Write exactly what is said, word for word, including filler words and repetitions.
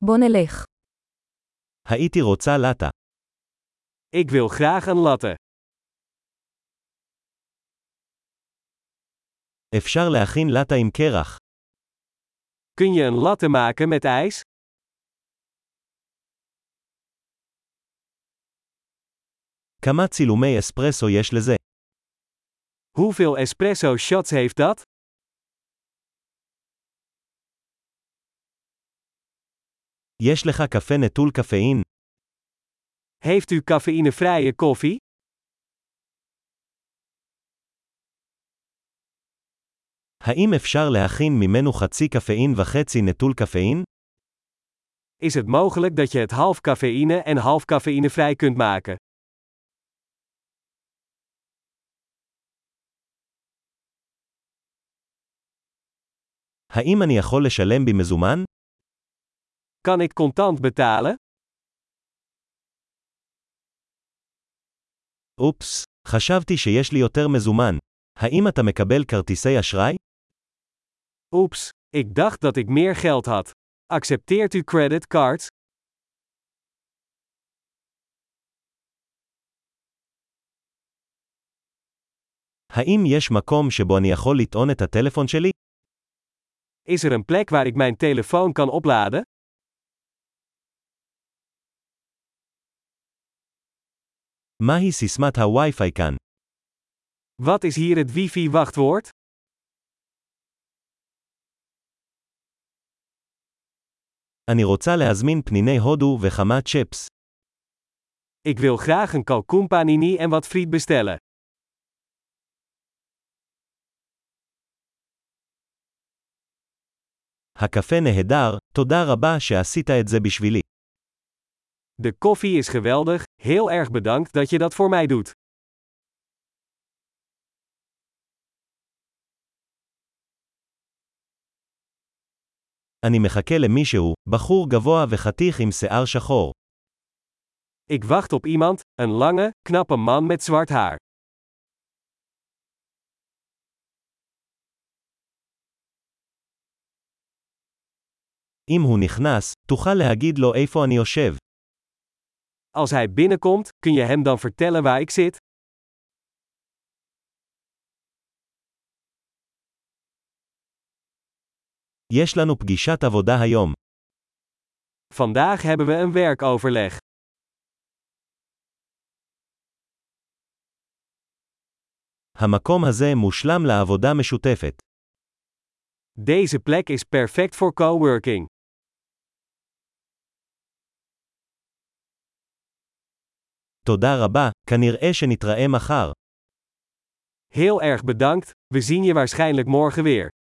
בוא נלך. הייתי רוצה לטה. Ik wil graag een latte. אפשר להכין לטה עם קרח. Kun je een latte maken met ijs? כמה צילומי אספרסו יש לזה? Hoeveel espresso shots heeft dat? יש לך קפה נטול קפאין? Heeft u cafeïnevrije koffie? האם אפשר להכין ממנו חצי קפאין וחצי נטול קפאין? Is het mogelijk dat je het half cafeïne en half cafeïnevrij kunt maken? האם אני יכול לשלם במזומן? Kan ik contant betalen? אופס, חשבתי שיש לי יותר מזומן. האם אתה מקבל כרטיסי אשראי? Oeps, ik dacht dat ik meer geld had. Accepteert u creditcards? האם יש מקום שבו אני יכול לטעון את הטלפון שלי? Is er een plek waar ik mijn telefoon kan opladen? מהי סיסמת הווי-פיי כאן? Wat is hier het wifi-wachtwoord? אני רוצה להזמין פניני הודו וכמה צ'פס. Ik wil graag een kalkoen panini en wat friet bestellen. הקפה נהדר, תודה רבה שעשית את זה בשבילי. De koffie is geweldig, heel erg bedankt dat je dat voor mij doet. אני מחכה למישהו, בחור גבוה וחתיך עם שיער שחור. Ik wacht op iemand, een lange, knappe man met zwart haar. אם הוא נכנס, תוכל להגיד לו איפה אני יושב. Als hij binnenkomt, kun je hem dan vertellen waar ik zit? יש לנו פגישת עבודה היום. Vandaag hebben we een werkoverleg. המקום הזה מושלם לעבודה משותפת. Deze plek is perfect voor coworking. תודה רבה, כנראה שנתראה מחר. Heel erg bedankt, we zien je waarschijnlijk morgen weer.